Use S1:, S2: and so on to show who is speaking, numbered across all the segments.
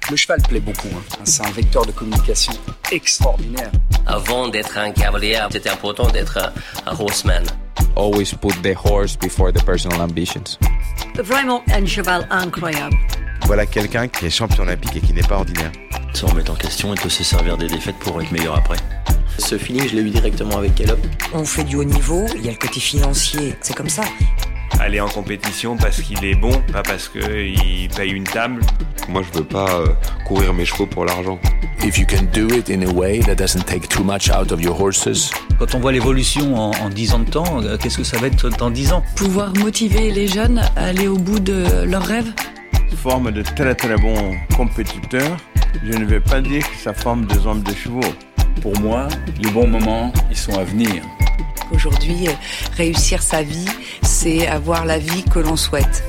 S1: Le cheval plaît beaucoup, hein. C'est un vecteur de communication extraordinaire.
S2: Avant d'être un cavalier, c'était important d'être un horseman.
S3: Always put the horse before the personal ambitions.
S4: Vraiment un cheval incroyable.
S5: Voilà quelqu'un qui est champion olympique et qui n'est pas ordinaire.
S6: Se remettre en question et peut se servir des défaites pour être meilleur après.
S7: Ce feeling, je l'ai eu directement avec Caleb.
S4: On fait du haut niveau, il y a le côté financier, c'est comme ça.
S8: Aller en compétition parce qu'il est bon, pas parce qu'il paye une table.
S5: Moi, je veux pas courir mes chevaux pour l'argent.
S9: If you can do it in a way that doesn't take too much out of your horses.
S10: Quand on voit l'évolution en 10 ans de temps, qu'est-ce que ça va être dans 10 ans ?
S11: Pouvoir motiver les jeunes à aller au bout de leurs rêves.
S8: Forme de très très bons compétiteurs. Je ne vais pas dire que ça forme des hommes de chevaux.
S12: Pour moi, les bons moments, ils sont à venir.
S11: Aujourd'hui, réussir sa vie, c'est avoir la vie que l'on souhaite.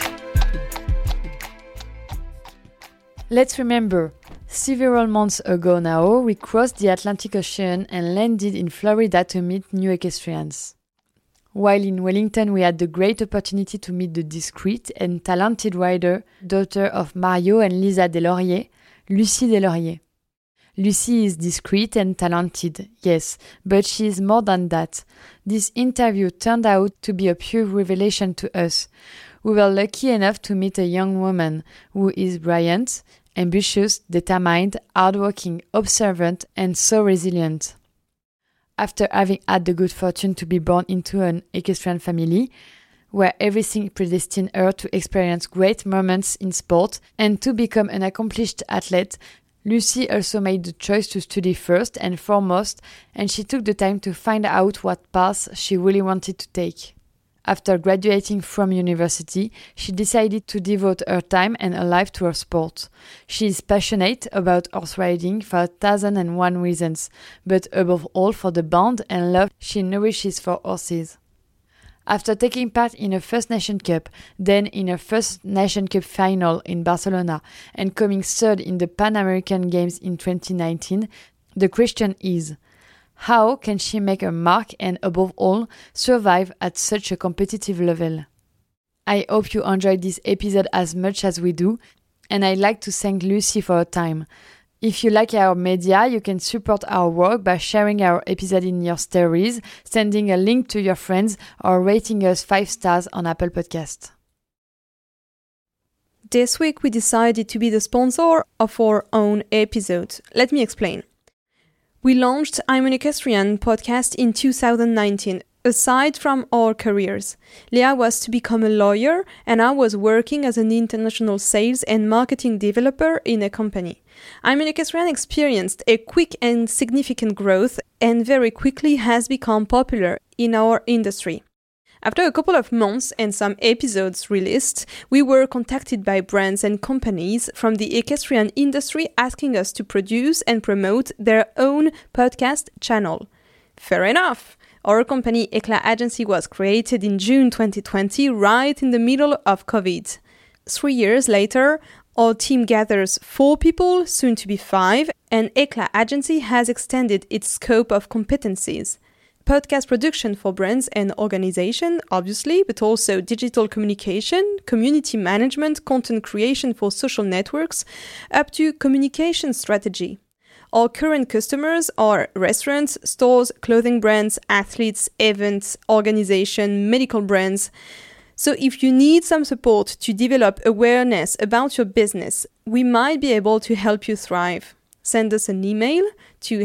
S13: Let's remember, several months ago now, we crossed the Atlantic Ocean and landed in Florida to meet new equestrians. While in Wellington, we had the great opportunity to meet the discreet and talented rider, daughter of Mario and Lisa Deslauriers, Lucie Deslauriers. Lucie is discreet and talented, yes, but she is more than that. This interview turned out to be a pure revelation to us. We were lucky enough to meet a young woman who is brilliant, ambitious, determined, hardworking, observant, and so resilient. After having had the good fortune to be born into an equestrian family, where everything predestined her to experience great moments in sport and to become an accomplished athlete, Lucie also made the choice to study first and foremost, and she took the time to find out what path she really wanted to take. After graduating from university, she decided to devote her time and her life to her sport. She is passionate about horse riding for 1,001 reasons, but above all for the bond and love she nourishes for horses. After taking part in her first Nation Cup, then in her first Nation Cup final in Barcelona, and coming third in the Pan American Games in 2019, the question is, how can she make a mark and, above all, survive at such a competitive level? I hope you enjoyed this episode as much as we do, and I'd like to thank Lucie for her time. If you like our media, you can support our work by sharing our episode in your stories, sending a link to your friends, or rating us 5 stars on Apple Podcasts.
S14: This week we decided to be the sponsor of our own episode. Let me explain. We launched I'm an Equestrian podcast in 2019. Aside from our careers, Leah was to become a lawyer and I was working as an international sales and marketing developer in a company. I'm an Equestrian experienced a quick and significant growth and very quickly has become popular in our industry. After a couple of months and some episodes released, we were contacted by brands and companies from the equestrian industry asking us to produce and promote their own podcast channel. Fair enough! Our company Eclat Agency was created in June 2020, right in the middle of COVID. 3 years later, our team gathers 4 people, soon to be 5, and Eclat Agency has extended its scope of competencies. Podcast production for brands and organizations, obviously, but also digital communication, community management, content creation for social networks, up to communication strategy. Our current customers are restaurants, stores, clothing brands, athletes, events, organizations, medical brands. So if you need some support to develop awareness about your business, we might be able to help you thrive. Send us an email to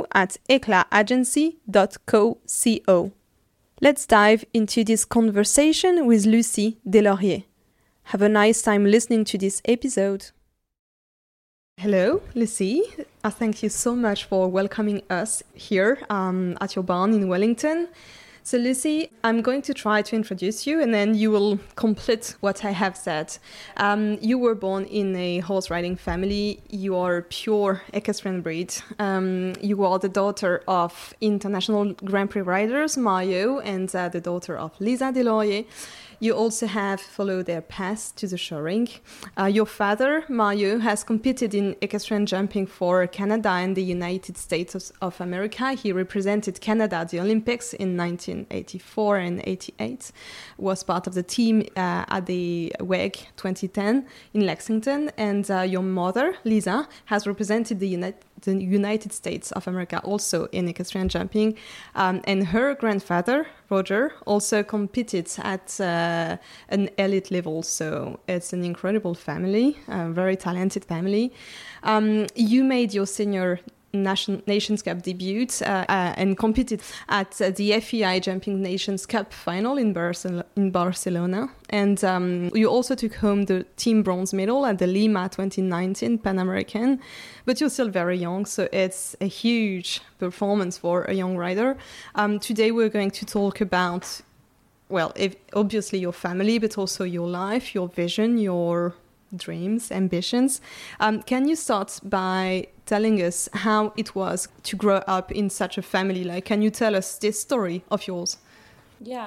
S14: hello@eclatagency.co. Let's dive into this conversation with Lucie Deslauriers. Have a nice time listening to this episode. Hello, Lucie. Thank you so much for welcoming us here at your barn in Wellington. So, Lucie, I'm going to try to introduce you and then you will complete what I have said. You were born in a horse riding family. You are pure equestrian breed. You are the daughter of international Grand Prix riders, Mario, and the daughter of Lisa Deslauriers. you also have followed their path to the showring. Your father, Mario, has competed in equestrian jumping for Canada and the United States of America. He represented Canada at the Olympics in 1984 and 88, was part of the team at the WEG 2010 in Lexington. And your mother, Lisa, has represented the United States of America also in equestrian jumping. And her grandfather, Roger, also competed at an elite level. So it's an incredible family, a very talented family. You made your senior Nations Cup debut and competed at the FEI Jumping Nations Cup final in Barcelona. And you also took home the team bronze medal at the Lima 2019 Pan American. But you're still very young, so it's a huge performance for a young rider. Today we're going to talk about, well, obviously your family, but also your life, your vision, your dreams, ambitions. Can you start by telling us how it was to grow up in such a family? Like, can you tell us this story of yours?
S15: Yeah.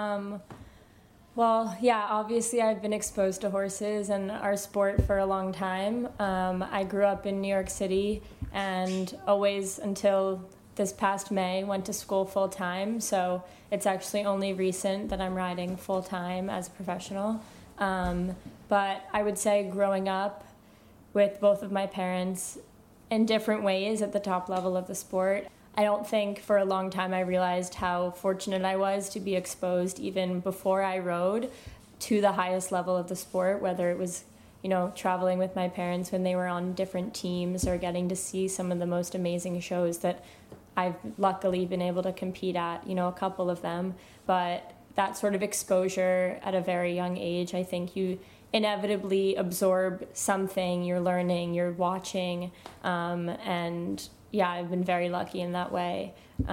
S15: Well, yeah, obviously I've been exposed to horses and our sport for a long time. I grew up in New York City and always, until this past May, went to school full time. So it's actually only recent that I'm riding full time as a professional. But I would say growing up with both of my parents in different ways at the top level of the sport, I don't think for a long time I realized how fortunate I was to be exposed even before I rode to the highest level of the sport, whether it was, you know, traveling with my parents when they were on different teams or getting to see some of the most amazing shows that I've luckily been able to compete at, you know, a couple of them. But that sort of exposure at a very young age, I think you inevitably absorb something, you're learning, you're watching, and yeah, I've been very lucky in that way.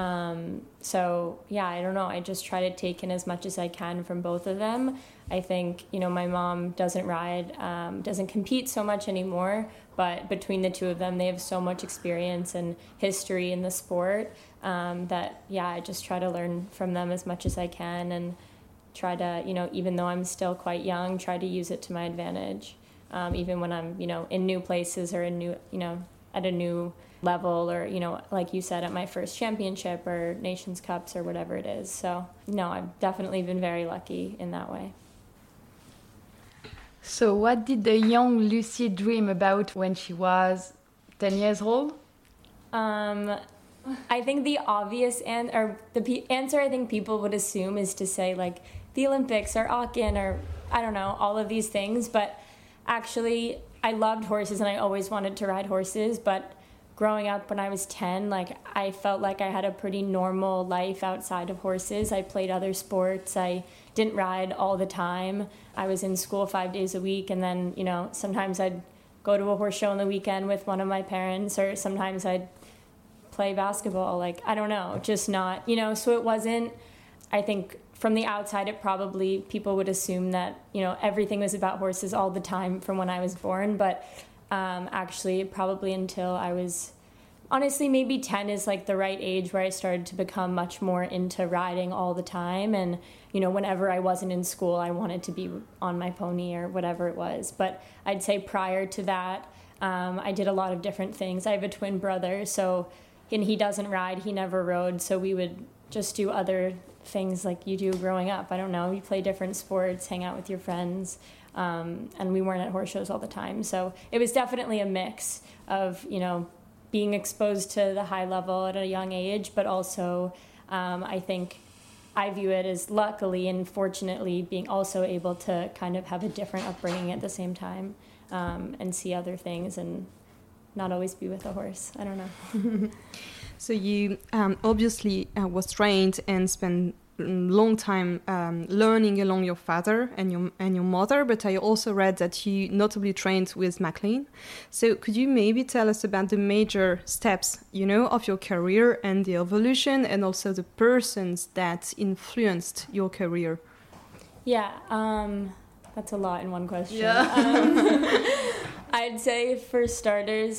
S15: So yeah, I don't know, I just try to take in as much as I can from both of them. I think, you know, my mom doesn't ride, doesn't compete so much anymore, but between the two of them, they have so much experience and history in the sport that, yeah, I just try to learn from them as much as I can and try to, you know, even though I'm still quite young, try to use it to my advantage, even when I'm, you know, in new places or in new, you know, at a new level or, you know, like you said, at my first championship or Nations Cups or whatever it is. So, no, I've definitely been very lucky in that way.
S13: So what did the young Lucy dream about when she was 10 years old?
S15: I think the obvious answer I think people would assume is to say, like, the Olympics or Aachen or, I don't know, all of these things. But actually, I loved horses and I always wanted to ride horses. But growing up when I was 10, like, I felt like I had a pretty normal life outside of horses. I played other sports. I didn't ride all the time. I was in school 5 days a week. And then, you know, sometimes I'd go to a horse show on the weekend with one of my parents, or sometimes I'd play basketball. Like, I don't know, just not, you know, so it wasn't, I think from the outside, it probably, people would assume that, you know, everything was about horses all the time from when I was born. But actually, probably until I was, honestly, maybe 10 is like the right age where I started to become much more into riding all the time. And, you know, whenever I wasn't in school, I wanted to be on my pony or whatever it was. But I'd say prior to that, I did a lot of different things. I have a twin brother, so, and he doesn't ride, he never rode, so we would just do other things like you do growing up. I don't know, you play different sports, hang out with your friends, and we weren't at horse shows all the time. So it was definitely a mix of, you know, being exposed to the high level at a young age, but also I think I view it as luckily and fortunately being also able to kind of have a different upbringing at the same time, and see other things and not always be with a horse. I don't know.
S14: So you obviously was trained and spent a long time learning along your father and your mother, but I also read that you notably trained with Maclean. So could you maybe tell us about the major steps, you know, of your career and the evolution, and also the persons that influenced your career?
S15: Yeah, that's a lot in one question. Yeah. I'd say for starters,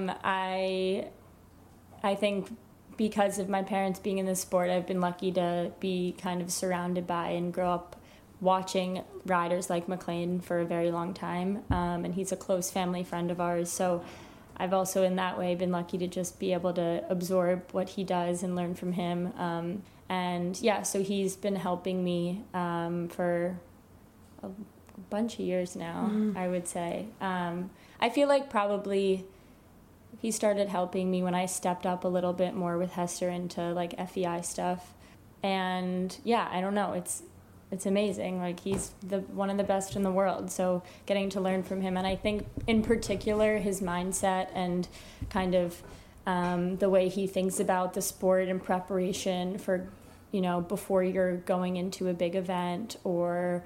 S15: I think because of my parents being in the sport, I've been lucky to be kind of surrounded by and grow up watching riders like McLean for a very long time, and he's a close family friend of ours. So I've also in that way been lucky to just be able to absorb what he does and learn from him. And yeah, so he's been helping me for a bunch of years now, I would say. I feel like probably he started helping me when I stepped up a little bit more with Hester into like FEI stuff. And yeah, I don't know, it's amazing. Like he's one of the best in the world. So getting to learn from him, and I think in particular his mindset and kind of the way he thinks about the sport and preparation for, before you're going into a big event or,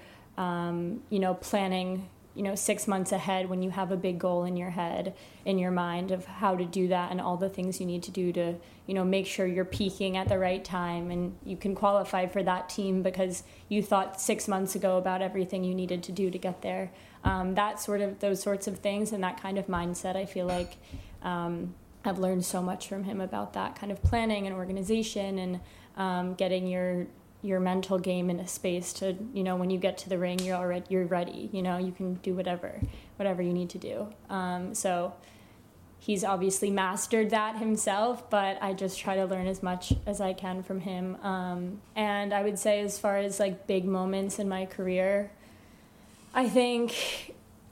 S15: planning, 6 months ahead when you have a big goal in your head, in your mind of how to do that and all the things you need to do to, make sure you're peaking at the right time and you can qualify for that team because you thought 6 months ago about everything you needed to do to get there. Those sorts of things and that kind of mindset, I feel like I've learned so much from him about that kind of planning and organization and getting your mental game in a space to, when you get to the ring, you're ready, you can do whatever you need to do. So he's obviously mastered that himself, but I just try to learn as much as I can from him. And I would say as far as like big moments in my career, I think,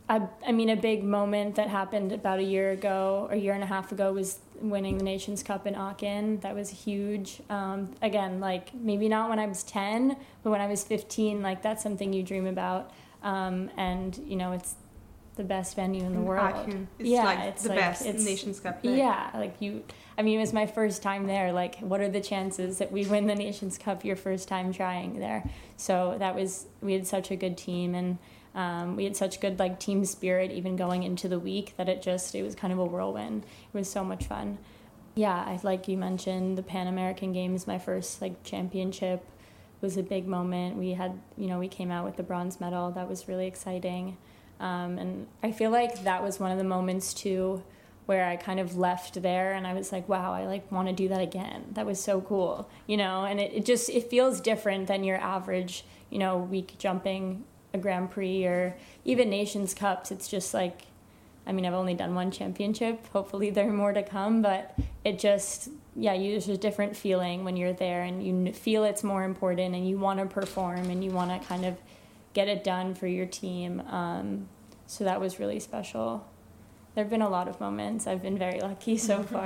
S15: a big moment that happened about a year and a half ago was winning the Nations Cup in Aachen. That was huge. Again, like maybe not when I was 10, but when I was 15, like that's something you dream about. And, it's the best venue in the world.
S14: Aachen. It's the best Nations Cup.
S15: Yeah, it was my first time there. Like, what are the chances that we win the Nations Cup your first time trying there? So we had such a good team and we had such good like team spirit even going into the week that it was kind of a whirlwind. It was so much fun. Yeah, like you mentioned, the Pan American Games, my first like championship was a big moment. We had, we came out with the bronze medal. That was really exciting. And I feel like that was one of the moments too where I kind of left there and I was like, wow, I like want to do that again. That was so cool, and it feels different than your average, week jumping a Grand Prix or even Nations Cups. It's just like, I've only done one championship. Hopefully there are more to come, but it just, there's a different feeling when you're there and you feel it's more important and you want to perform and you want to kind of get it done for your team. So that was really special. There have been a lot of moments. I've been very lucky so far.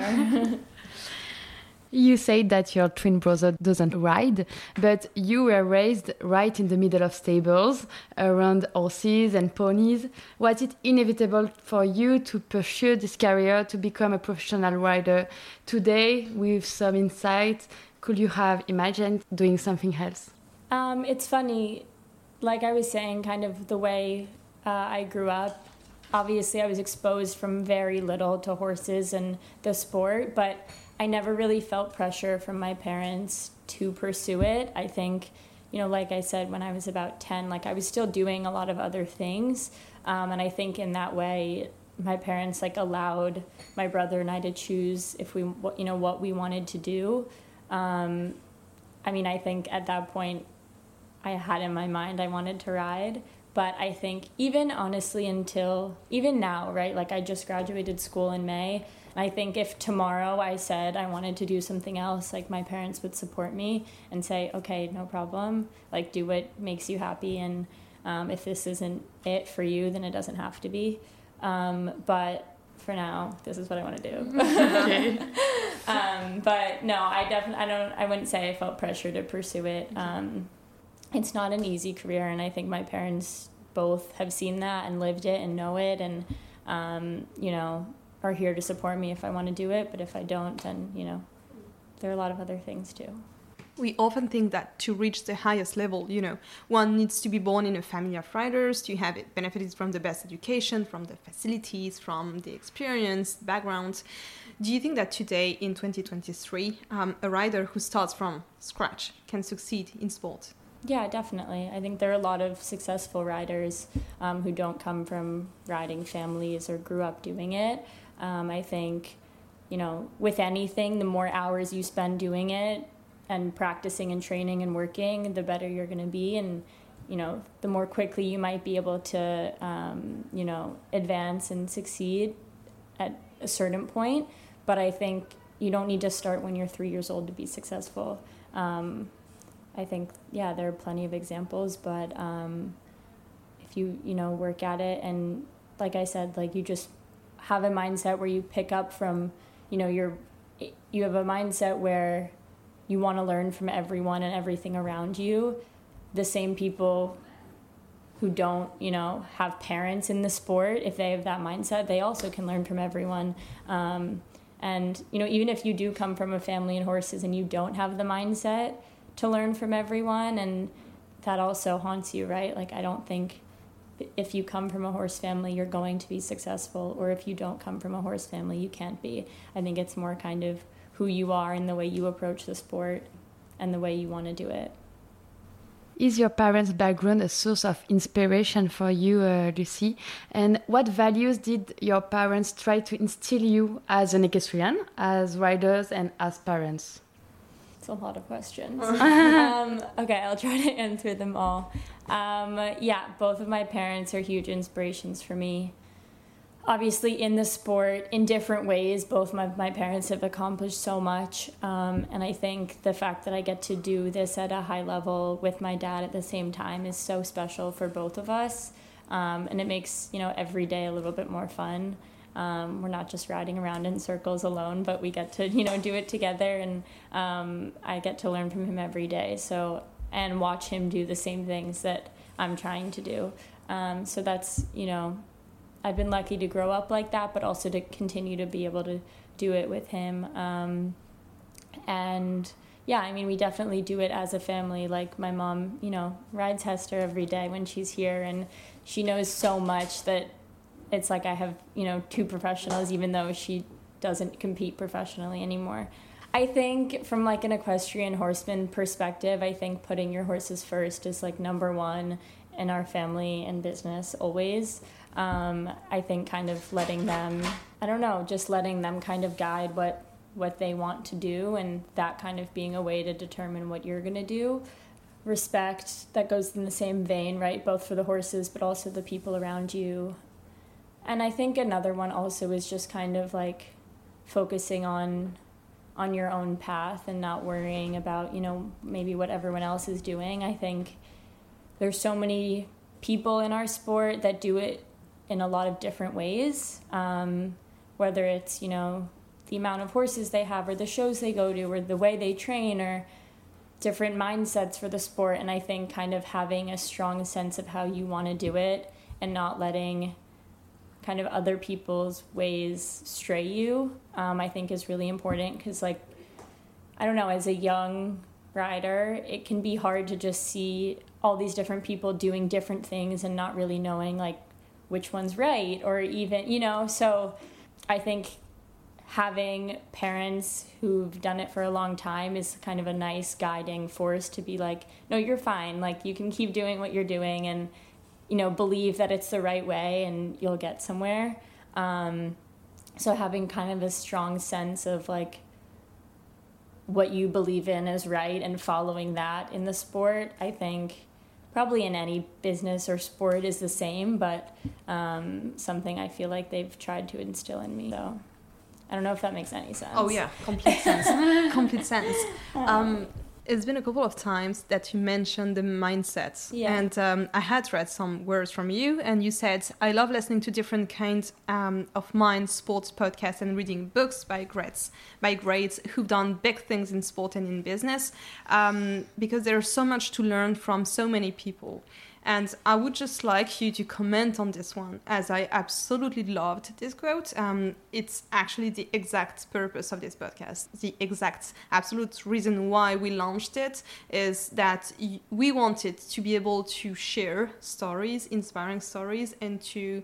S13: You said that your twin brother doesn't ride, but you were raised right in the middle of stables, around horses and ponies. Was it inevitable for you to pursue this career, to become a professional rider? Today, with some insight, could you have imagined doing something else?
S15: It's funny, like I was saying, kind of the way I grew up. Obviously, I was exposed from very little to horses and the sport, but I never really felt pressure from my parents to pursue it. I think, like I said, when I was about 10, like I was still doing a lot of other things. And I think in that way, my parents like allowed my brother and I to choose if we, what we wanted to do. I think at that point I had in my mind I wanted to ride. But I think even honestly even now, right, like I just graduated school in May. I think if tomorrow I said I wanted to do something else, like my parents would support me and say, okay, no problem, like do what makes you happy. And if this isn't it for you, then it doesn't have to be. But for now, this is what I want to do. Okay. But no, I wouldn't say I felt pressure to pursue it. It's not an easy career, and I think my parents both have seen that and lived it and know it, and are here to support me if I want to do it. But if I don't, then there are a lot of other things too.
S14: We often think that to reach the highest level, one needs to be born in a family of riders, to have benefited from the best education, from the facilities, from the experience, backgrounds. Do you think that today, in 2023, a rider who starts from scratch can succeed in sport?
S15: Yeah, definitely. I think there are a lot of successful riders who don't come from riding families or grew up doing it. I think, with anything, the more hours you spend doing it and practicing and training and working, the better you're going to be. And the more quickly you might be able to, advance and succeed at a certain point. But I think you don't need to start when you're 3 years old to be successful. I think, there are plenty of examples, but if you, work at it and, like I said, like you just have a mindset where you pick up from, you have a mindset where you want to learn from everyone and everything around you. The same people who don't, have parents in the sport, if they have that mindset, they also can learn from everyone. And, even if you do come from a family in horses and you don't have the mindset to learn from everyone, and that also haunts you, right? Like, I don't think if you come from a horse family, you're going to be successful, or if you don't come from a horse family, you can't be. I think it's more kind of who you are and the way you approach the sport and the way you want to do it.
S13: Is your parents' background a source of inspiration for you, Lucy? And what values did your parents try to instill you as an equestrian, as riders, and as parents?
S15: It's a lot of questions. Okay, I'll try to answer them all. Both of my parents are huge inspirations for me. Obviously, in the sport, in different ways, both my parents have accomplished so much. And I think the fact that I get to do this at a high level with my dad at the same time is so special for both of us. And it makes, every day a little bit more fun. We're not just riding around in circles alone, but we get to, do it together. And I get to learn from him every day. And watch him do the same things that I'm trying to do. So that's, I've been lucky to grow up like that, but also to continue to be able to do it with him. We definitely do it as a family. Like my mom, rides Hester every day when she's here, and she knows so much that it's like I have, 2 professionals, even though she doesn't compete professionally anymore. I think from like an equestrian horseman perspective, I think putting your horses first is like number one in our family and business always. I think kind of letting them, just letting them kind of guide what they want to do, and that kind of being a way to determine what you're going to do. Respect, that goes in the same vein, right? Both for the horses, but also the people around you. And I think another one also is just kind of like focusing on your own path and not worrying about, maybe what everyone else is doing. I think there's so many people in our sport that do it in a lot of different ways, whether it's, the amount of horses they have or the shows they go to or the way they train or different mindsets for the sport. And I think kind of having a strong sense of how you want to do it and not letting kind of other people's ways stray you, I think is really important because, as a young rider, it can be hard to just see all these different people doing different things and not really knowing, which one's right or even, so I think having parents who've done it for a long time is kind of a nice guiding force to be like, no, you're fine. You can keep doing what you're doing and, believe that it's the right way and you'll get somewhere. So having kind of a strong sense of what you believe in is right and following that in the sport, I think probably in any business or sport is the same, but something I feel like they've tried to instill in me. So I don't know if that makes any sense.
S14: Oh yeah, complete sense. Complete sense. It's been a couple of times that you mentioned the mindset. Yeah. And I had read some words from you, and you said, I love listening to different kinds of mind, sports podcasts, and reading books by greats who've done big things in sport and in business, because there's so much to learn from so many people. And I would just like you to comment on this one, as I absolutely loved this quote. It's actually the exact purpose of this podcast. The exact absolute reason why we launched it is that we wanted to be able to share stories, inspiring stories, and to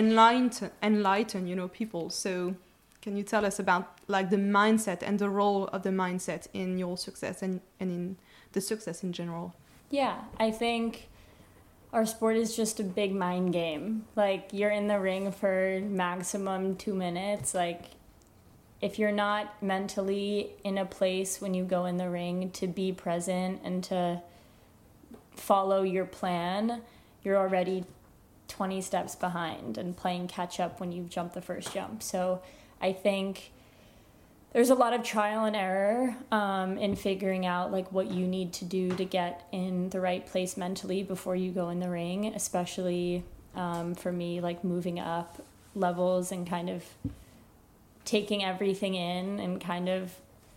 S14: enlighten, people. So can you tell us about the mindset and the role of the mindset in your success and in the success in general?
S15: Yeah, I think our sport is just a big mind game. You're in the ring for maximum 2 minutes. If you're not mentally in a place when you go in the ring to be present and to follow your plan, you're already 20 steps behind and playing catch up when you've jumped the first jump. So I think there's a lot of trial and error in figuring out like what you need to do to get in the right place mentally before you go in the ring, especially for me, like moving up levels and kind of taking everything in and kind of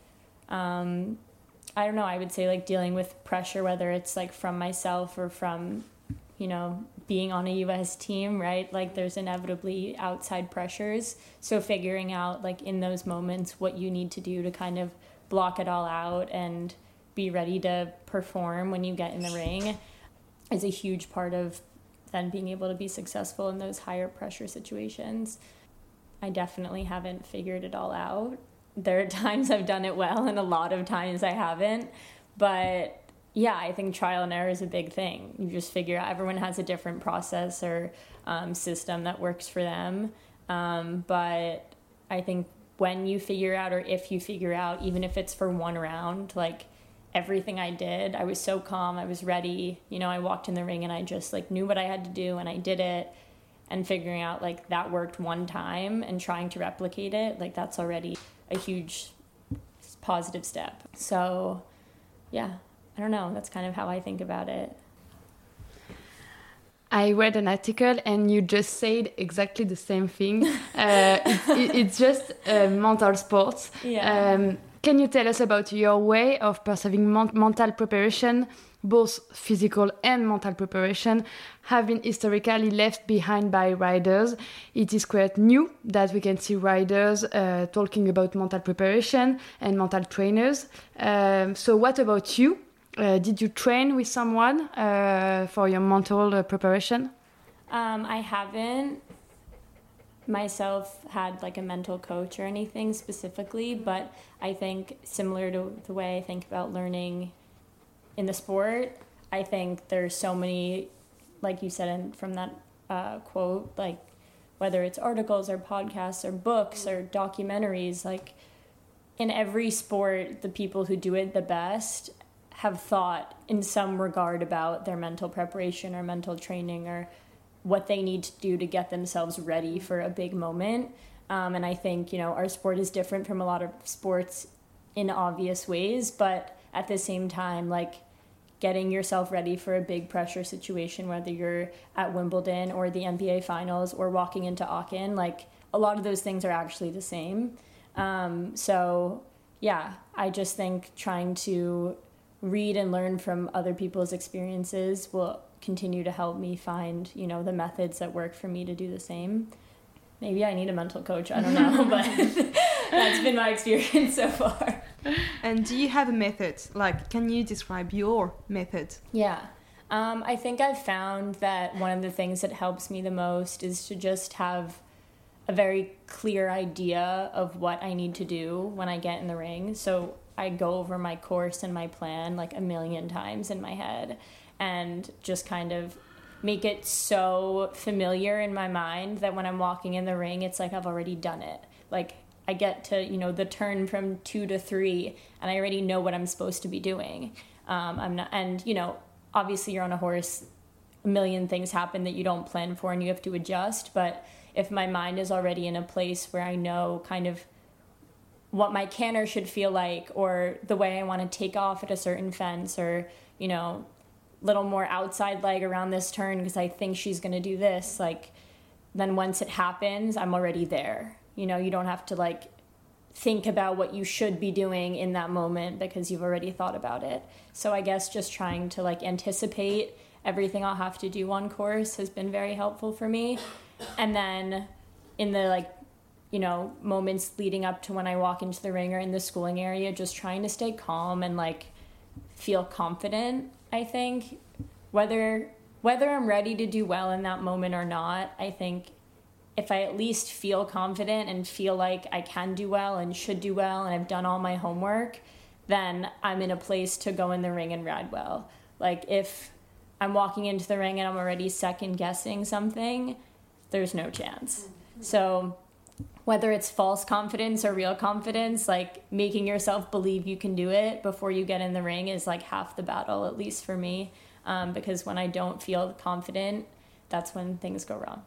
S15: I don't know, I would say like dealing with pressure, whether it's like from myself or from, you know, being on a US team, right? Like there's inevitably outside pressures. So figuring out like in those moments what you need to do to kind of block it all out and be ready to perform when you get in the ring is a huge part of then being able to be successful in those higher pressure situations. I definitely haven't figured it all out. There are times I've done it well and a lot of times I haven't. But yeah, I think trial and error is a big thing. You just figure out everyone has a different process or system that works for them. But I think when you figure out, or if you figure out, even if it's for one round, like everything I did, I was so calm, I was ready. You know, I walked in the ring and I just like knew what I had to do and I did it. And figuring out like that worked one time and trying to replicate it, like that's already a huge positive step. So yeah, I don't know, that's kind of how I think about it.
S13: I read an article and you just said exactly the same thing. It's just mental sports.
S15: Yeah.
S13: Can you tell us about your way of perceiving mental preparation? Both physical and mental preparation have been historically left behind by riders. It is quite new that we can see riders talking about mental preparation and mental trainers. So what about you? Did you train with someone for your mental preparation?
S15: I haven't myself had like a mental coach or anything specifically, but I think similar to the way I think about learning in the sport, I think there's so many, like you said from that quote, like whether it's articles or podcasts or books or documentaries, like in every sport, the people who do it the best have thought in some regard about their mental preparation or mental training or what they need to do to get themselves ready for a big moment. And I think, you know, our sport is different from a lot of sports in obvious ways, but at the same time, like getting yourself ready for a big pressure situation, whether you're at Wimbledon or the NBA finals or walking into Aachen, like a lot of those things are actually the same. So yeah, I just think trying to read and learn from other people's experiences will continue to help me find, you know, the methods that work for me to do the same. Maybe I need a mental coach, I don't know, but that's been my experience so far.
S14: And do you have a method? Like, can you describe your method?
S15: Yeah. I think I've found that one of the things that helps me the most is to just have a very clear idea of what I need to do when I get in the ring. So I go over my course and my plan like a million times in my head and just kind of make it so familiar in my mind that when I'm walking in the ring, it's like I've already done it. Like I get to, you know, the turn from 2 to 3 and I already know what I'm supposed to be doing. And, you know, obviously you're on a horse, a million things happen that you don't plan for and you have to adjust. But if my mind is already in a place where I know kind of what my canter should feel like or the way I want to take off at a certain fence or, you know, little more outside leg around this turn because I think she's going to do this, like, then once it happens, I'm already there. You know, you don't have to, like, think about what you should be doing in that moment because you've already thought about it. So I guess just trying to, like, anticipate everything I'll have to do on course has been very helpful for me. And then in the, like, you know, moments leading up to when I walk into the ring or in the schooling area, just trying to stay calm and, like, feel confident, I think. Whether I'm ready to do well in that moment or not, I think if I at least feel confident and feel like I can do well and should do well and I've done all my homework, then I'm in a place to go in the ring and ride well. Like, if I'm walking into the ring and I'm already second-guessing something, there's no chance. So whether it's false confidence or real confidence, like making yourself believe you can do it before you get in the ring is like half the battle, at least for me. because when I don't feel confident, that's when things go wrong.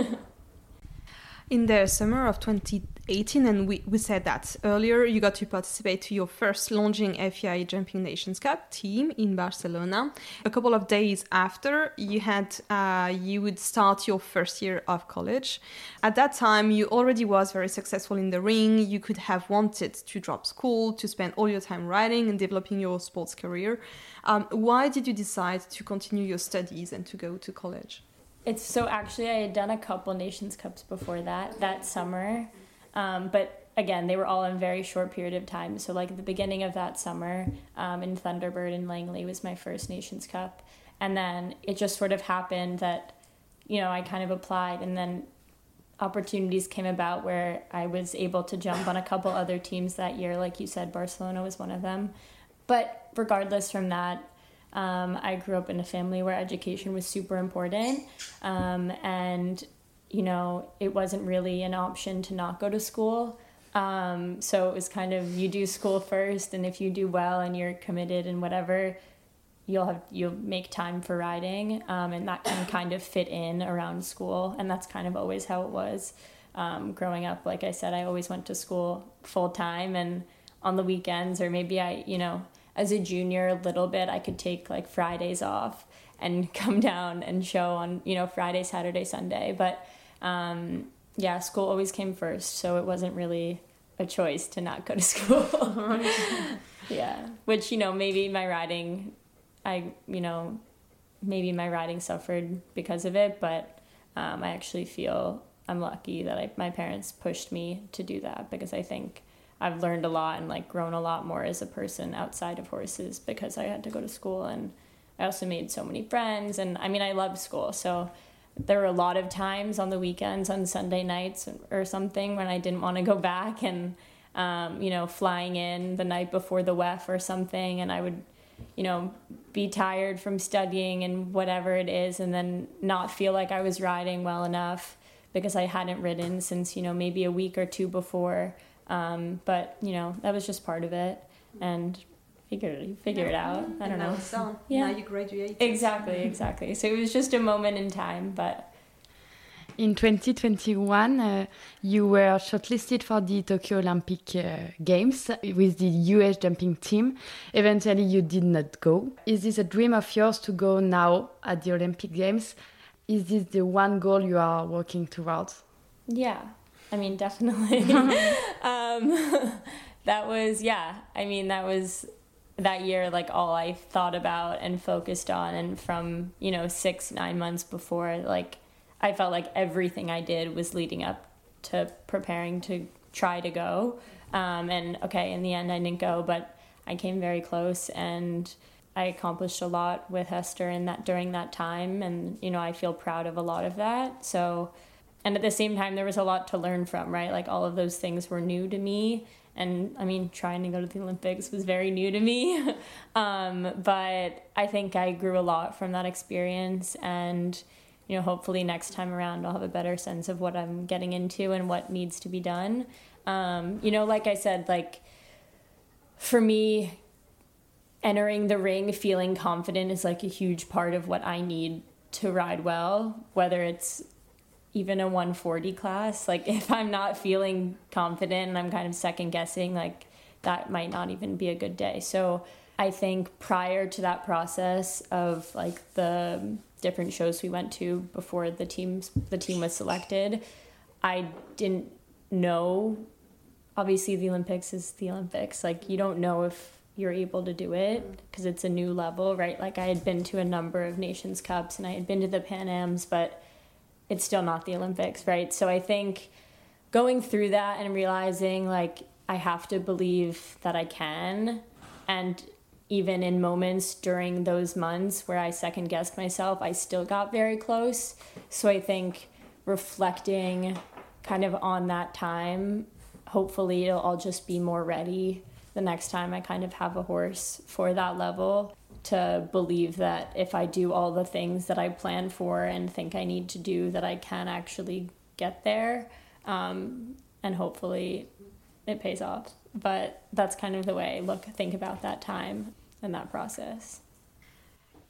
S14: In the summer of 2018, and we said that earlier, you got to participate to your first Longines FEI Jumping Nations Cup team in Barcelona. A couple of days after, you would start your first year of college. At that time, you already was very successful in the ring. You could have wanted to drop school, to spend all your time riding and developing your sports career. Why did you decide to continue your studies and to go to college?
S15: Actually I had done a couple Nations Cups before that summer, but again, they were all in a very short period of time. So like at the beginning of that summer in Thunderbird in Langley was my first Nations Cup, and then it just sort of happened that, you know, I kind of applied, and then opportunities came about where I was able to jump on a couple other teams that year. Like you said, Barcelona was one of them. But regardless from that, I grew up in a family where education was super important, and, you know, it wasn't really an option to not go to school. So it was kind of, you do school first, and if you do well and you're committed and whatever, you'll make time for riding, and that can kind of fit in around school, and that's kind of always how it was. Growing up, like I said, I always went to school full time, and on the weekends, or maybe as a junior a little bit, I could take like Fridays off and come down and show on, you know, Friday, Saturday, Sunday. But school always came first, so it wasn't really a choice to not go to school. Yeah, which, you know, maybe my riding suffered because of it, but I actually feel I'm lucky that my parents pushed me to do that, because I think I've learned a lot and like grown a lot more as a person outside of horses because I had to go to school, and I also made so many friends, and I mean, I loved school. So there were a lot of times on the weekends, on Sunday nights or something, when I didn't want to go back, and flying in the night before the WEF or something, and I would, you know, be tired from studying and whatever it is, and then not feel like I was riding well enough because I hadn't ridden since, you know, maybe a week or two before. But, you know, that was just part of it, and figure it out. I don't know.
S14: So,
S15: yeah.
S14: Now you graduate.
S15: Exactly. So it was just a moment in time, but...
S13: In 2021, you were shortlisted for the Tokyo Olympic Games with the US jumping team. Eventually, you did not go. Is this a dream of yours to go now at the Olympic Games? Is this the one goal you are working towards?
S15: Yeah. I mean, definitely. That year, like, all I thought about and focused on. And from, 6-9 months before, like, I felt like everything I did was leading up to preparing to try to go. And okay, in the end, I didn't go, but I came very close, and I accomplished a lot with Hester during that time. And, I feel proud of a lot of that. So... And at the same time, there was a lot to learn from, right? Like, all of those things were new to me. And, I mean, trying to go to the Olympics was very new to me. But I think I grew a lot from that experience. And, hopefully next time around, I'll have a better sense of what I'm getting into and what needs to be done. Like I said, like, for me, entering the ring, feeling confident is, like, a huge part of what I need to ride well, whether it's even a 140 class. Like, if I'm not feeling confident and I'm kind of second guessing, like, that might not even be a good day. So I think prior to that process of, like, the different shows we went to before the team was selected, I didn't know. Obviously, the Olympics is the Olympics. Like, you don't know if you're able to do it because it's a new level, right? Like, I had been to a number of Nations Cups and I had been to the Pan Ams, but it's still not the Olympics, right? So I think going through that and realizing, like, I have to believe that I can. And even in moments during those months where I second-guessed myself, I still got very close. So I think reflecting kind of on that time, hopefully I'll just be more ready the next time I kind of have a horse for that level, to believe that if I do all the things that I plan for and think I need to do, that I can actually get there. And hopefully it pays off. But that's kind of the way I think about that time and that process.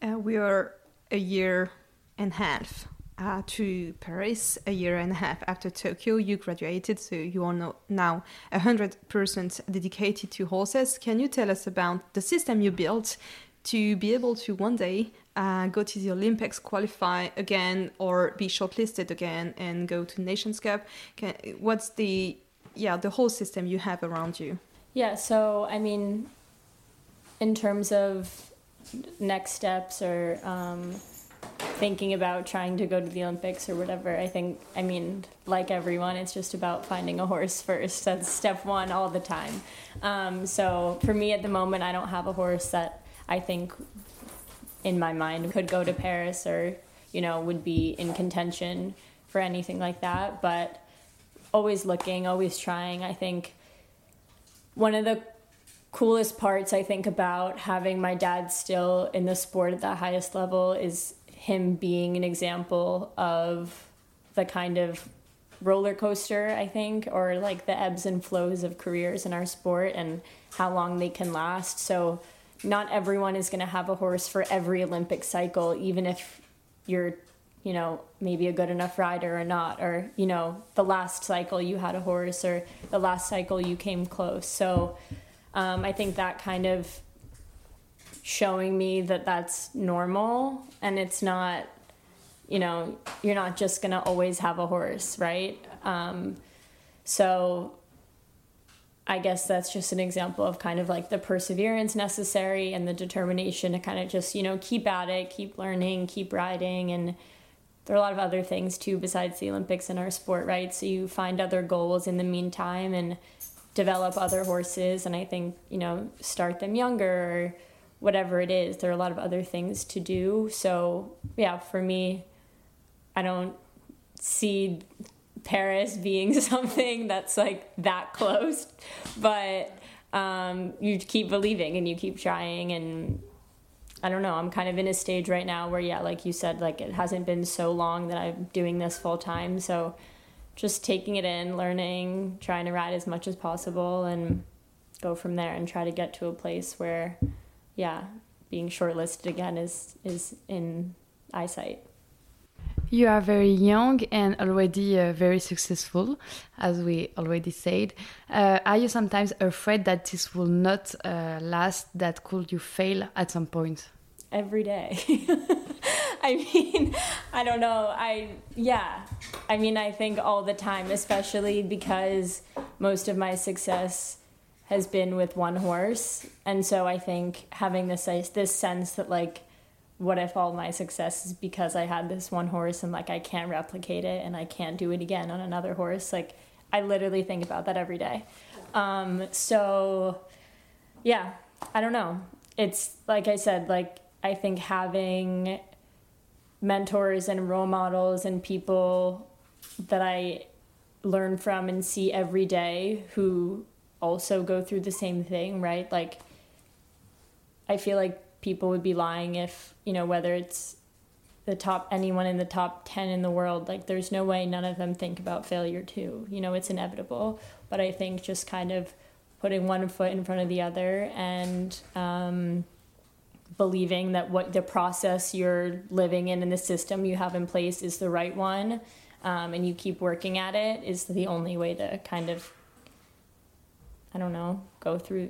S14: We are a year and a half to Paris, a year and a half after Tokyo. You graduated, so you are now 100% dedicated to horses. Can you tell us about the system you built to be able to one day go to the Olympics, qualify again, or be shortlisted again and go to Nations Cup? What's the whole system you have around you?
S15: Yeah, so I mean, in terms of next steps or thinking about trying to go to the Olympics or whatever, I mean, like everyone, it's just about finding a horse first. That's step one all the time. So for me at the moment, I don't have a horse that I think in my mind could go to Paris or, would be in contention for anything like that. But always looking, always trying. I think one of the coolest parts I think about having my dad still in the sport at the highest level is him being an example of the kind of roller coaster, I think, or like the ebbs and flows of careers in our sport and how long they can last. So not everyone is going to have a horse for every Olympic cycle, even if you're, maybe a good enough rider or not, or, the last cycle you had a horse or the last cycle you came close. So I think that kind of showing me that that's normal and it's not, you're not just going to always have a horse, right? So I guess that's just an example of kind of like the perseverance necessary and the determination to kind of just, keep at it, keep learning, keep riding. And there are a lot of other things too besides the Olympics in our sport, right? So you find other goals in the meantime and develop other horses. And I think, start them younger or whatever it is. There are a lot of other things to do. So yeah, for me, I don't see Paris being something that's like that close, but you keep believing and you keep trying. And I don't know, I'm kind of in a stage right now where, yeah, like you said, like it hasn't been so long that I'm doing this full time. So just taking it in, learning, trying to ride as much as possible and go from there and try to get to a place where, yeah, being shortlisted again is in eyesight.
S13: You are very young and already very successful, as we already said. Are you sometimes afraid that this will not last, that could you fail at some point?
S15: Every day. I mean, I don't know. I think all the time, especially because most of my success has been with one horse. And so I think having this sense that like, what if all my success is because I had this one horse and like I can't replicate it and I can't do it again on another horse? Like I literally think about that every day. So yeah, I don't know. It's like I said, like I think having mentors and role models and people that I learn from and see every day who also go through the same thing, right? Like I feel like people would be lying if, whether it's anyone in the top 10 in the world, like there's no way none of them think about failure too. It's inevitable. But I think just kind of putting one foot in front of the other and believing that what the process you're living in the system you have in place is the right one, and you keep working at it is the only way to kind of, I don't know, go through,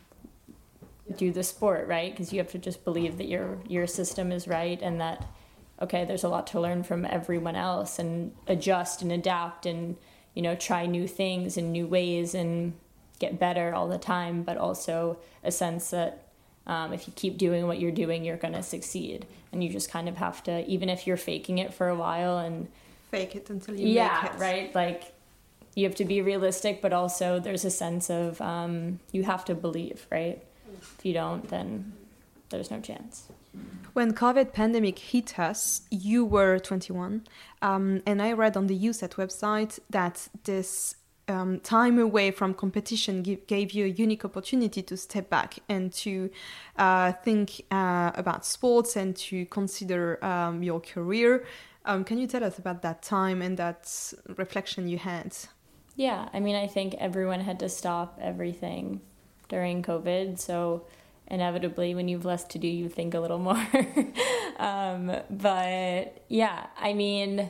S15: do the sport, right? Because you have to just believe that your system is right and that, okay, there's a lot to learn from everyone else and adjust and adapt and, try new things and new ways and get better all the time, but also a sense that if you keep doing what you're doing, you're going to succeed. And you just kind of have to, even if you're faking it for a while and
S14: fake it until you make it.
S15: Yeah, right? Like you have to be realistic, but also there's a sense of you have to believe, right? If you don't, then there's no chance.
S14: When COVID pandemic hit us, you were 21, and I read on the USAT website that this time away from competition gave you a unique opportunity to step back and to think about sports and to consider your career. Can you tell us about that time and that reflection you had?
S15: Yeah, I mean, I think everyone had to stop everything during COVID, so inevitably, when you've less to do, you think a little more. But yeah, I mean,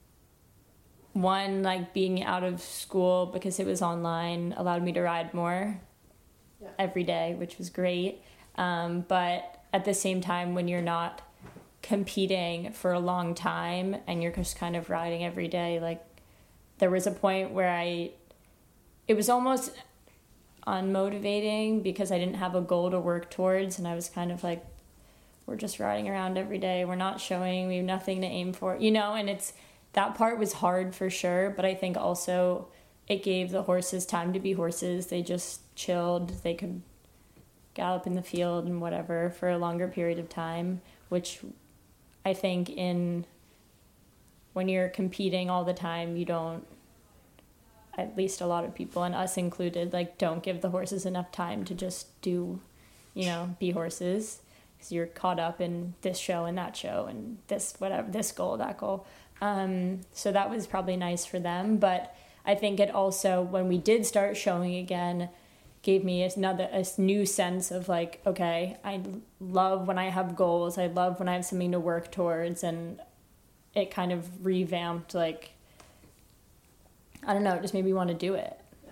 S15: one, like being out of school because it was online allowed me to ride more every day, which was great. But at the same time, when you're not competing for a long time and you're just kind of riding every day, like there was a point where it was almost unmotivating because I didn't have a goal to work towards, and I was kind of like, we're just riding around every day, we're not showing, we have nothing to aim for, you know. And it's that part was hard for sure, but I think also it gave the horses time to be horses. They just chilled, they could gallop in the field and whatever for a longer period of time, which I think when you're competing all the time, you don't, at least a lot of people, and us included, like don't give the horses enough time to just do, you know, be horses, because you're caught up in this show and that show and this whatever, this goal, that goal. So that was probably nice for them, but I think it also, when we did start showing again, gave me a new sense of like, okay, I love when I have goals, I love when I have something to work towards, and it kind of revamped, like, I don't know, it just made me want to do it.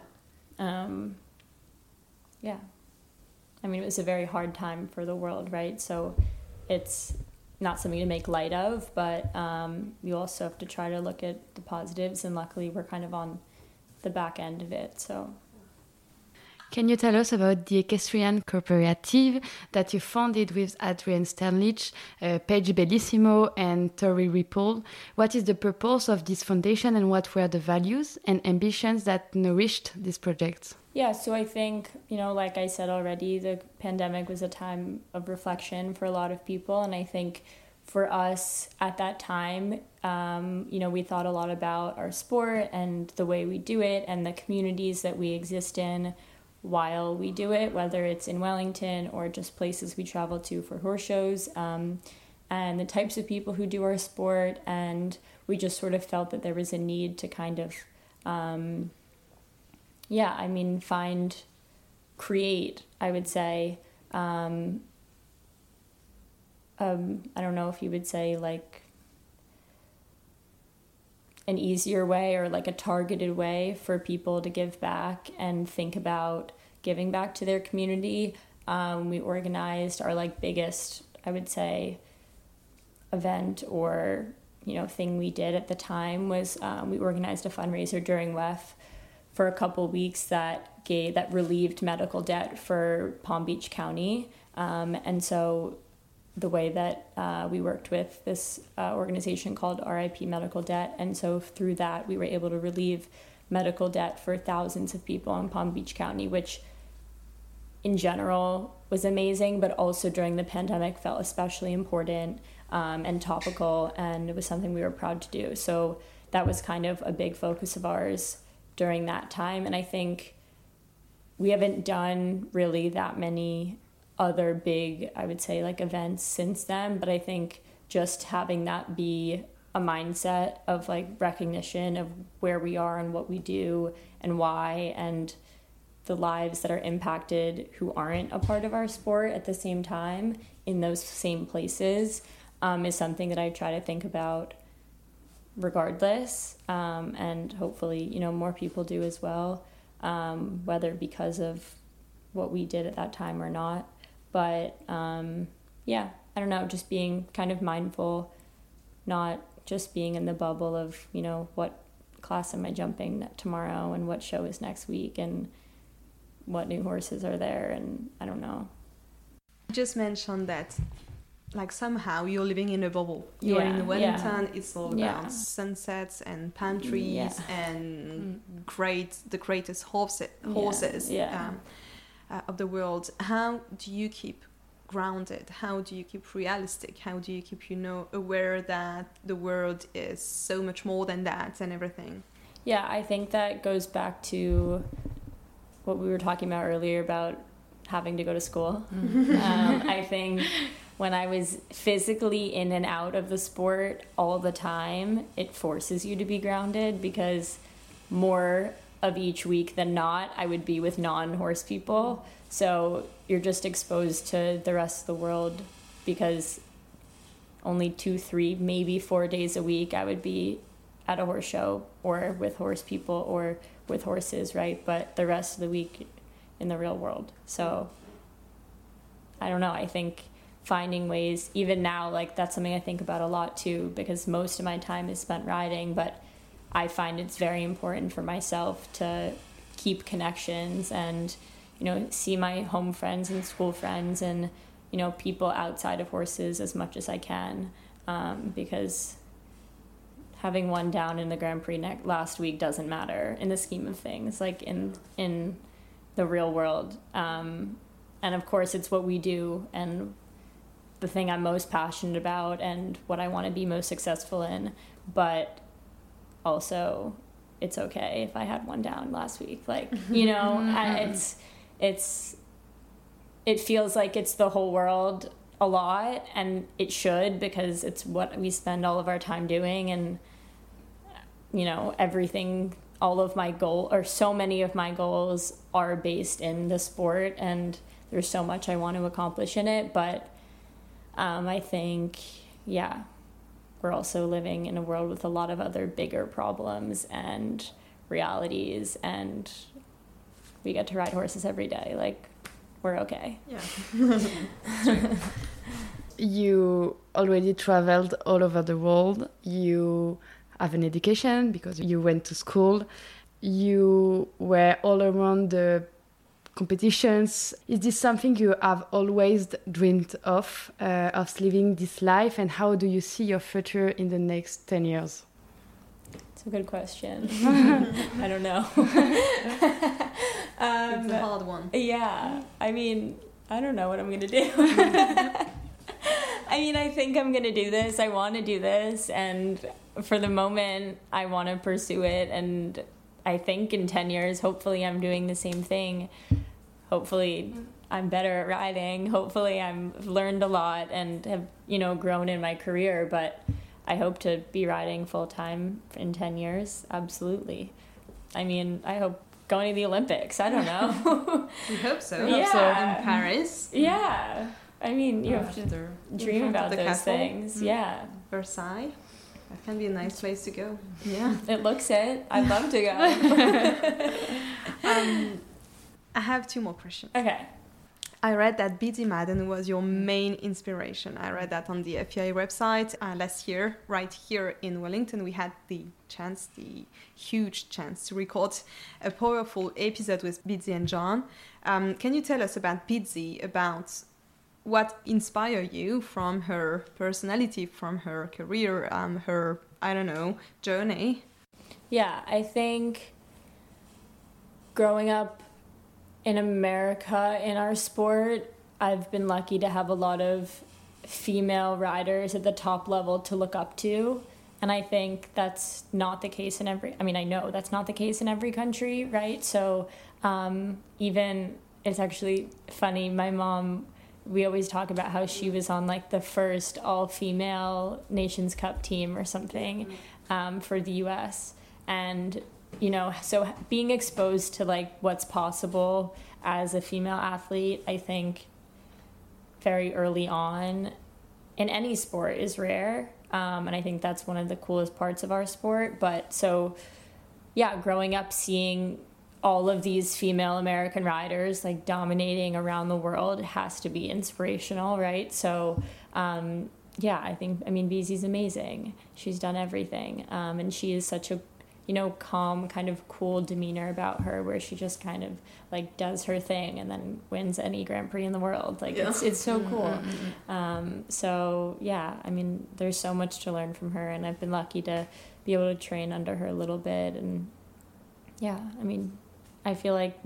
S15: Yeah. I mean, it was a very hard time for the world, right? So it's not something to make light of, but you also have to try to look at the positives, and luckily we're kind of on the back end of it, so.
S13: Can you tell us about the Equestrian Cooperative that you founded with Adrian Sternlich, Paige Bellissimo, and Tori Ripple? What is the purpose of this foundation, and what were the values and ambitions that nourished this project?
S15: Yeah, so I think, you know, like I said already, the pandemic was a time of reflection for a lot of people, and I think for us at that time, you know, we thought a lot about our sport and the way we do it and the communities that we exist in while we do it, whether it's in Wellington or just places we travel to for horse shows, and the types of people who do our sport. And we just sort of felt that there was a need to kind of, create, I would say, I don't know if you would say like an easier way or like a targeted way for people to give back and think about giving back to their community. We organized our like biggest, I would say, event or, you know, thing we did at the time was we organized a fundraiser during WEF for a couple weeks that relieved medical debt for Palm Beach County. And so the way that we worked with this organization called RIP Medical Debt. And so through that, we were able to relieve medical debt for thousands of people in Palm Beach County, which in general was amazing, but also during the pandemic felt especially important and topical, and it was something we were proud to do. So that was kind of a big focus of ours during that time. And I think we haven't done really that many other big, I would say, like events since then, but I think just having that be a mindset of like recognition of where we are and what we do and why, and the lives that are impacted who aren't a part of our sport at the same time in those same places, is something that I try to think about regardless, and hopefully, you know, more people do as well, whether because of what we did at that time or not. But yeah, I don't know, just being kind of mindful, not just being in the bubble of, you know, what class am I jumping tomorrow and what show is next week and what new horses are there, and I don't know.
S14: You just mentioned that, like, somehow you're living in a bubble. You're in Wellington, it's all about sunsets and palm trees and the greatest horses of the world. How do you keep grounded? How do you keep realistic? How do you keep, you know, aware that the world is so much more than that and everything?
S15: Yeah, I think that goes back to what we were talking about earlier about having to go to school. I think when I was physically in and out of the sport all the time, it forces you to be grounded, because more of each week than not, I would be with non-horse people. So you're just exposed to the rest of the world, because only 2, 3, maybe 4 days a week I would be at a horse show or with horse people or with horses, right? But the rest of the week in the real world. So I don't know, I think finding ways, even now, like that's something I think about a lot too, because most of my time is spent riding, but I find it's very important for myself to keep connections and, you know, see my home friends and school friends and, you know, people outside of horses as much as I can, because having one down in the Grand Prix last week doesn't matter in the scheme of things, like in the real world. And of course it's what we do and the thing I'm most passionate about and what I want to be most successful in, but also it's okay if I had one down last week, like, you know. It feels like it's the whole world a lot, and it should, because it's what we spend all of our time doing. And, you know, everything, all of my goal, or so many of my goals are based in the sport, and there's so much I want to accomplish in it. But I think, yeah, we're also living in a world with a lot of other bigger problems and realities, and we get to ride horses every day. Like, we're okay.
S14: Yeah.
S13: You already traveled all over the world. You have an education because you went to school. You were all around the competitions. Is this something you have always dreamed of living this life? And how do you see your future in the next 10 years?
S15: It's a good question. I don't know.
S14: It's a hard one.
S15: Yeah. I mean, I don't know what I'm going to do. I mean, I think I'm going to do this. I want to do this. And for the moment, I want to pursue it. And I think in 10 years, hopefully I'm doing the same thing. Hopefully I'm better at riding. Hopefully I've learned a lot and have, you know, grown in my career. But I hope to be riding full time in 10 years. Absolutely. I mean, I hope going to the Olympics. I don't know.
S14: We hope so.
S15: Yeah.
S14: So in Paris.
S15: Yeah. I mean, you have to dream about those
S14: castle.
S15: things. Yeah.
S14: Versailles. That can be a nice place to go. Yeah.
S15: It looks it. I'd love to go.
S14: I have 2 more questions.
S15: Okay.
S14: I read that Biddy Madden was your main inspiration. I read that on the FIA website. Last year, right here in Wellington, we had the huge chance to record a powerful episode with Biddy and John. Can you tell us about Biddy, about what inspired you from her personality, from her career, her, I don't know, journey?
S15: Yeah, I think growing up in America, in our sport, I've been lucky to have a lot of female riders at the top level to look up to. And I think that's not the case in I know that's not the case in every country, right? So even, it's actually funny, my mom, we always talk about how she was on like the first all-female Nations Cup team or something for the US. And, you know, so being exposed to like what's possible as a female athlete, I think very early on in any sport is rare. And I think that's one of the coolest parts of our sport. But so, yeah, growing up seeing all of these female American riders like dominating around the world has to be inspirational, right? So, yeah, BZ's amazing. She's done everything. And she is such a, you know, calm, kind of cool demeanor about her, where she just kind of like does her thing and then wins any Grand Prix in the world. Like, yeah. It's so cool. So yeah, I mean, there's so much to learn from her, and I've been lucky to be able to train under her a little bit. And yeah, I mean, I feel like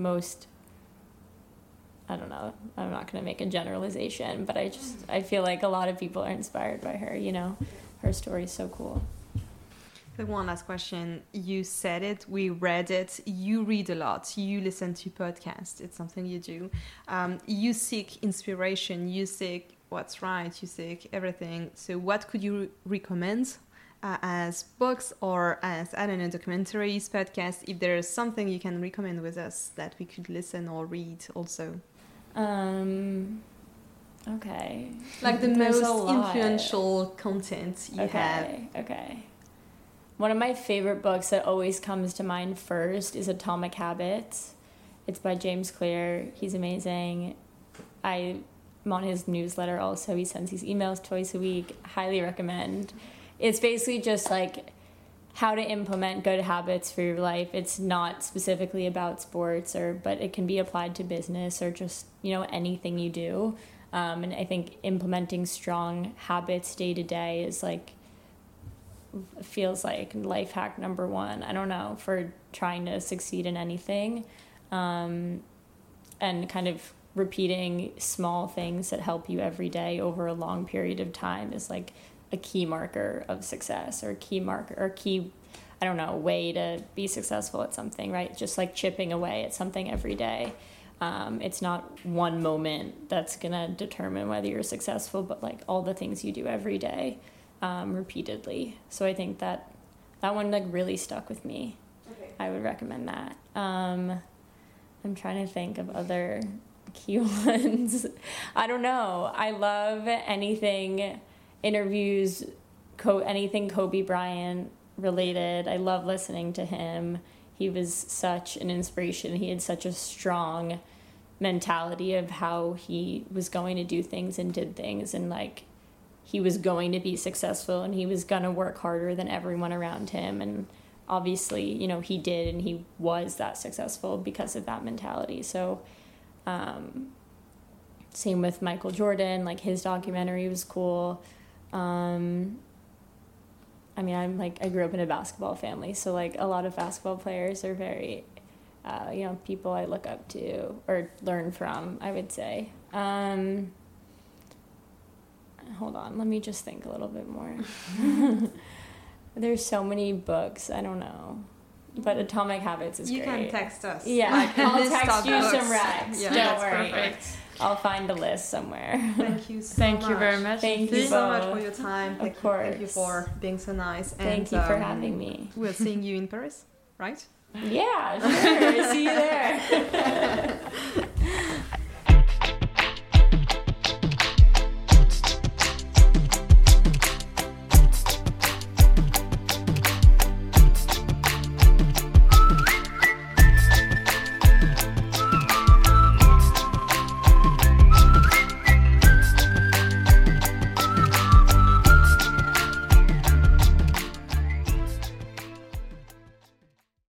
S15: I don't know, I'm not going to make a generalization, but I feel like a lot of people are inspired by her, you know. Her story is so cool.
S14: One last question. You said it, we read it, you read a lot, you listen to podcasts, it's something you do. You seek inspiration, you seek what's right, you seek everything. So what could you recommend as books or as, I don't know, documentaries, podcasts, if there's something you can recommend with us that we could listen or read also.
S15: Okay.
S14: Like the most influential content you have.
S15: Okay. One of my favorite books that always comes to mind first is Atomic Habits. It's by James Clear. He's amazing. I'm on his newsletter also. He sends these emails twice a week. Highly recommend. It's basically just like how to implement good habits for your life. It's not specifically about sports, but it can be applied to business or just, anything you do. And I think implementing strong habits day to day is feels like life hack number one. I don't know, for trying to succeed in anything. And kind of repeating small things that help you every day over a long period of time is like a key marker of success, or way to be successful at something, right? Just like chipping away at something every day. It's not one moment that's gonna determine whether you're successful, but like all the things you do every day, repeatedly. So I think that one really stuck with me. Okay. I would recommend that. I'm trying to think of other key ones. I don't know. I love anything interviews, anything Kobe Bryant related. I love listening to him. He was such an inspiration. He had such a strong mentality of how he was going to do things and did things, and he was going to be successful, and he was going to work harder than everyone around him. And obviously, he did, and he was that successful because of that mentality. So same with Michael Jordan, his documentary was cool. I grew up in a basketball family, so a lot of basketball players are very, people I look up to or learn from, I would say. Hold on, let me just think a little bit more. There's so many books, I don't know. But Atomic Habits is great.
S14: You can text us.
S15: Yeah, I'll text you some recs.
S14: Yeah,
S15: don't worry.
S14: Perfect.
S15: I'll find a list somewhere.
S14: Thank you so much.
S13: Thank you very much.
S14: Thank you so much for your time.
S15: Of course.
S14: Thank you for being so nice.
S15: Thank you for having me.
S14: We're seeing you in Paris, right?
S15: Yeah, sure. See you there.